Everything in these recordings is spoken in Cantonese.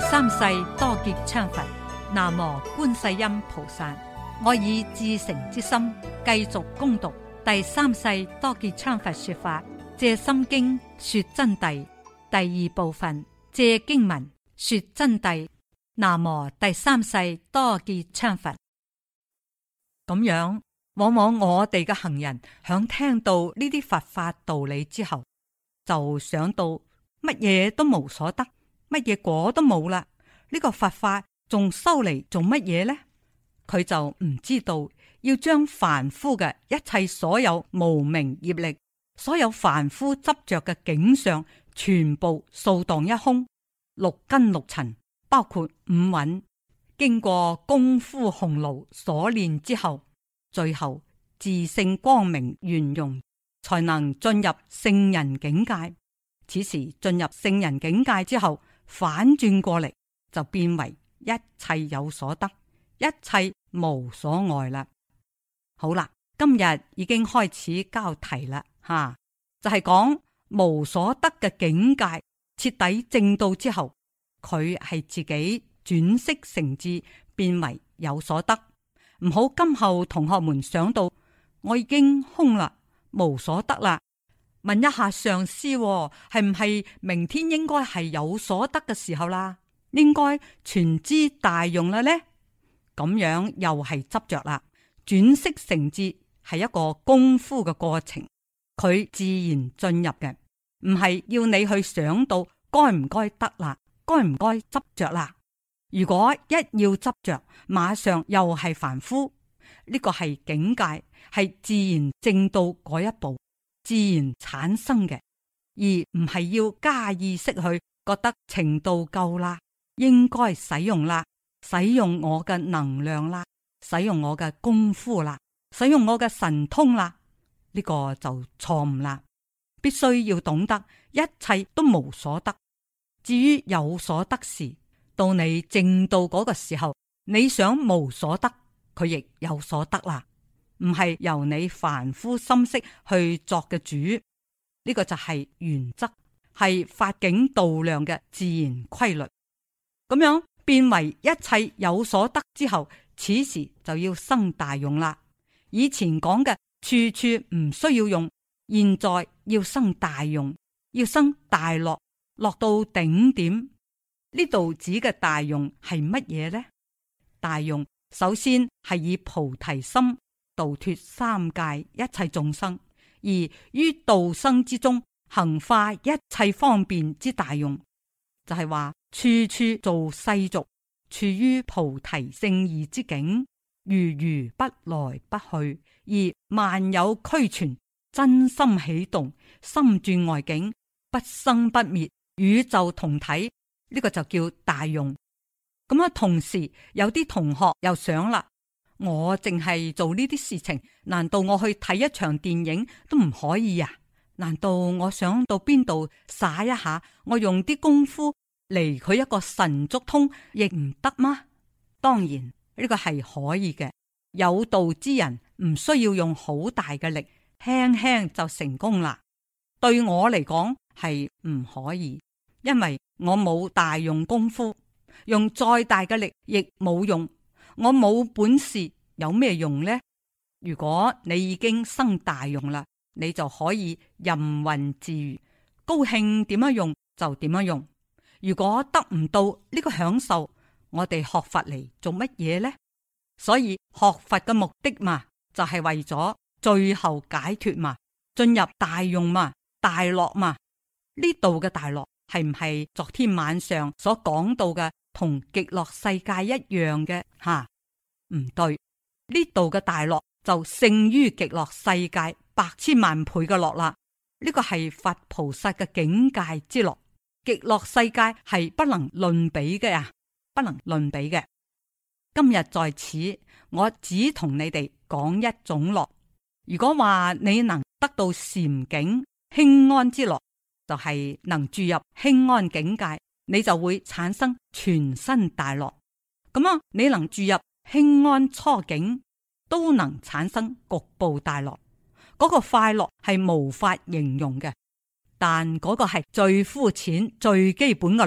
三世多杰羌佛，南無觀世音菩薩。我以至誠之心繼續恭讀第三世多杰羌佛說法《藉心經》說真諦第二部分，藉經文說真諦。南無第三世多杰羌佛。咁樣，往往我哋嘅行人響聽到呢啲佛法道理之後，就想到乜嘢都無所得，乜嘢果都冇啦。呢個佛法仲收嚟做乜嘢呢？佢就唔知道要將凡夫嘅一切所有無明業力，所有凡夫執着嘅境相，全部掃蕩一空。六根六塵，包括五蘊，經過功夫洪爐所練之後，最後自性光明圓融，才能進入聖人境界。此時進入聖人境界之後，反轉過嚟就變為一切有所得，一切無所愛啦。好啦，今日已經開始交題啦，就係講無所得嘅境界徹底證到之後，佢係自己轉識成智，變為有所得。唔好今後同學們想到我已經空啦，無所得啦。問一下上師，係唔係明天應該係有所得嘅時候啦？應該全知大用啦呢？咁樣又係執着啦。轉識成智係一個功夫嘅過程，佢自然進入嘅，唔係要你去想到該唔該得啦，該唔該執着啦。如果一要執着，馬上又係凡夫。呢個係境界，係自然證到嗰一步，自然產生嘅，而唔係要加意識去覺得程度夠啦，應該使用啦，使用我嘅能量啦，使用我嘅功夫啦，使用我嘅神通啦。呢個就錯誤啦。必須要懂得一切都無所得。至於有所得時，到你證到嗰個時候，你想無所得，佢亦有所得啦。唔係由你凡夫心識去作嘅主，呢個就係原則，係法境度量嘅自然規律。咁樣變為一切有所得之後，此時就要生大用啦。以前講嘅處處唔需要用，現在要生大用，要生大樂，落到頂點。呢度指嘅大用係乜嘢呢？大用首先係以菩提心度脫三界一切眾生，而於度生之中行化一切方便之大用，就係話處處做世俗，處於菩提聖義之境，如如不來不去，而萬有俱全，真心起動，心轉外境，不生不滅，宇宙同體，呢個就叫大用。咁啊，同時有啲同學又想啦，我淨係做呢啲事情，難道我去睇一場電影都唔可以啊？難道我想到邊度耍一下，我用啲功夫嚟佢一個神足通亦唔得嗎？當然呢個係可以嘅，有道之人唔需要用好大嘅力，輕輕就成功啦。對我嚟講係唔可以，因為我冇大用功夫，用再大嘅力亦冇用。我冇本事，有咩用呢？如果你已經生大用啦，你就可以任運自如，高興點樣用就點樣用。如果得唔到呢個享受，我哋學佛嚟做乜嘢呢？所以學佛嘅目的嘛，就係為咗最後解脫嘛，進入大用嘛，大樂嘛。呢度嘅大樂係唔係昨天晚上所講到嘅同極樂世界一樣嘅？唔對，呢度嘅大樂就勝於極樂世界百千萬倍嘅樂啦。呢個係佛菩薩嘅境界之樂，極樂世界係不能論比嘅呀，不能論比嘅。今日在此，我只同你哋講一種樂。如果話你能得到禪境輕安之樂，就係能住入輕安境界，你就會產生全身大樂。咁啊，你能住入輕安初境，都能產生局部大樂。嗰個快樂係無法形容嘅，但嗰個係最膚淺、最基本嘅樂，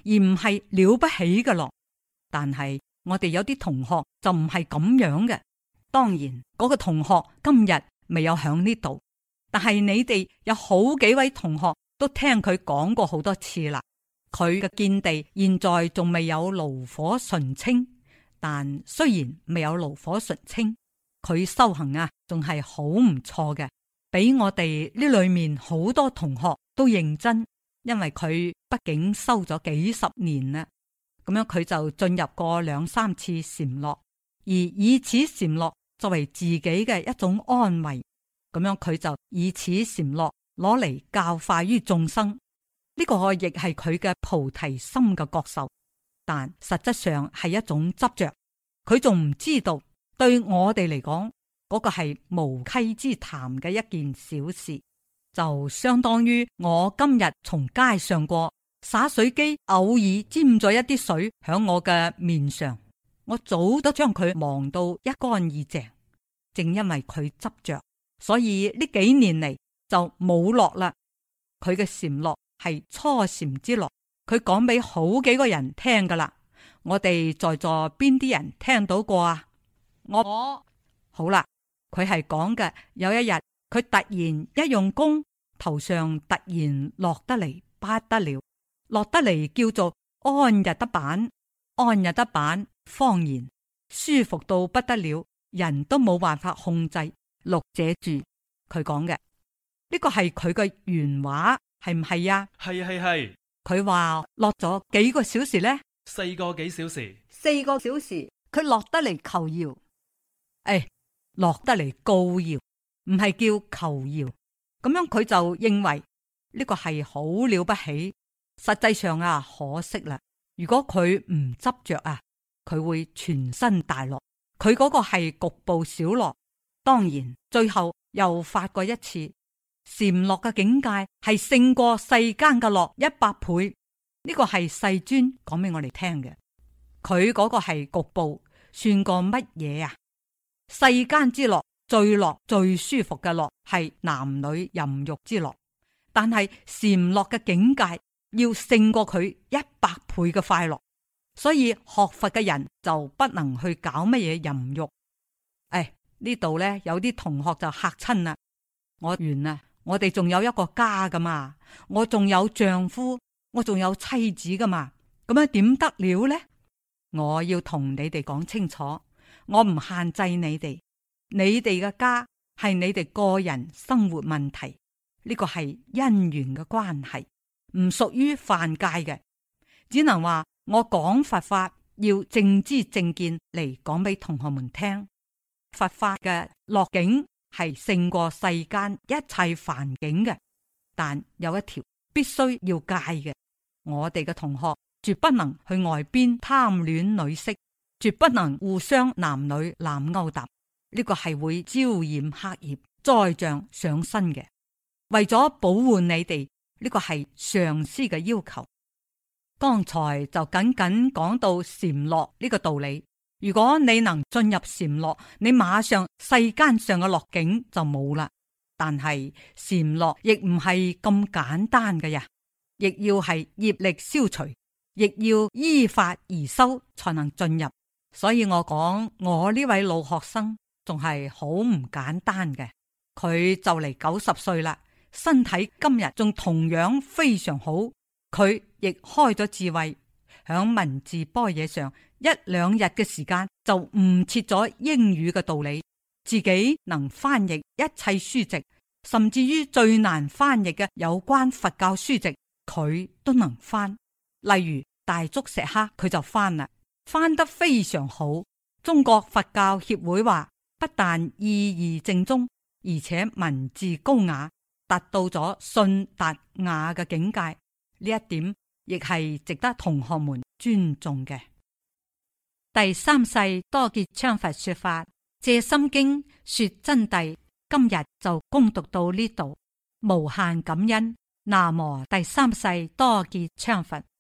而唔係了不起嘅樂。但係我哋有啲同學就唔係咁樣嘅。當然嗰個同學今日未有響呢度，但係你哋有好幾位同學都聽佢講過好多次啦。佢嘅見地現在仲未有爐火純青，但雖然未有爐火純青，佢修行啊仲係好唔錯嘅，比我哋呢裏面好多同學都認真，因為佢畢竟修咗幾十年啦。咁樣佢就進入過2、3次禪樂，而以此禪樂作為自己嘅一種安慰。咁樣佢就以此禪樂攞嚟教化於眾生，呢個亦係佢嘅菩提心嘅覺受，但實質上係一種執着。佢仲唔知道，對我哋嚟講，嗰個係無稽之談嘅一件小事，就相當於我今日從街上過，灑水機偶爾沾咗一啲水響我嘅面上，我早都將佢忘到一乾二淨。正因為佢執着，所以呢幾年嚟就冇樂啦。佢嘅禪樂係初禪之樂，佢講俾好幾個人聽噶啦。我哋在座邊啲人聽到過啊？我好啦，佢係講嘅有一日，佢突然一用功，頭上突然落得嚟不得了，落得嚟叫做安逸得板，安逸得板，方言舒服到不得了，人都冇辦法控制。錄者住佢講嘅呢個係佢嘅原話，係唔係呀？ 係。 佢話落咗幾個小時呢 ？4個幾小時。 4個小時，佢落得嚟求饒，落得嚟告饒，唔係叫求饒。咁樣佢就認為呢個係好了不起。實際上啊，可惜啦。如果佢唔執着啊，佢會全身大樂。佢嗰個係局部小樂。當然最後又發過一次禪樂嘅境界係勝過世間嘅樂100倍。呢個係世尊講俾我哋聽嘅。佢嗰個係局部，算過乜嘢啊？世間之樂最樂最舒服嘅樂係男女淫欲之樂，但係禪樂嘅境界要勝過佢100倍嘅快樂。所以學佛嘅人就不能去搞乜嘢淫欲。呢度呢，有啲同學就嚇親啦。我完啦，我哋仲有一個家噶嘛，我仲有丈夫，我仲有妻子噶嘛，咁樣點得了呢？我要同你哋講清楚，我唔限制你哋，你哋嘅家係你哋個人生活問題，呢個係因緣嘅關係，唔屬於犯戒嘅。只能話我講佛法要正知正見嚟講俾同學們聽。佛法嘅樂境係勝過世間一切凡境嘅，但有一條必須要戒嘅。我哋嘅同學絕不能去外邊貪戀女色，絕不能互相男女濫勾搭，呢個係會招染黑業災障上身嘅。為咗保護你哋，呢個係上師嘅要求。剛才就僅僅講到禪樂呢個道理。如果你能進入禪樂，你馬上世間上嘅樂境就冇啦。但係禪樂亦唔係咁簡單嘅呀，亦要係業力消除，亦要依法而修才能進入。所以我講我呢位老學生仲係好唔簡單嘅。佢就嚟90歲啦，身體今日仲同樣非常好。佢亦開咗智慧，響文字般若上1、2日嘅時間就悟徹咗英語嘅道理，自己能翻譯一切書籍，甚至於最難翻譯嘅有關佛教書籍，佢都能翻。例如大足石刻，佢就翻啦，翻得非常好。中國佛教協會話，不但意義正宗，而且文字高雅，達到咗信達雅嘅境界。呢一點亦係值得同學們尊重嘅。第三世多杰羌佛說法《藉心經》說真諦，今日就恭讀到呢度，無限感恩。南無第三世多杰羌佛。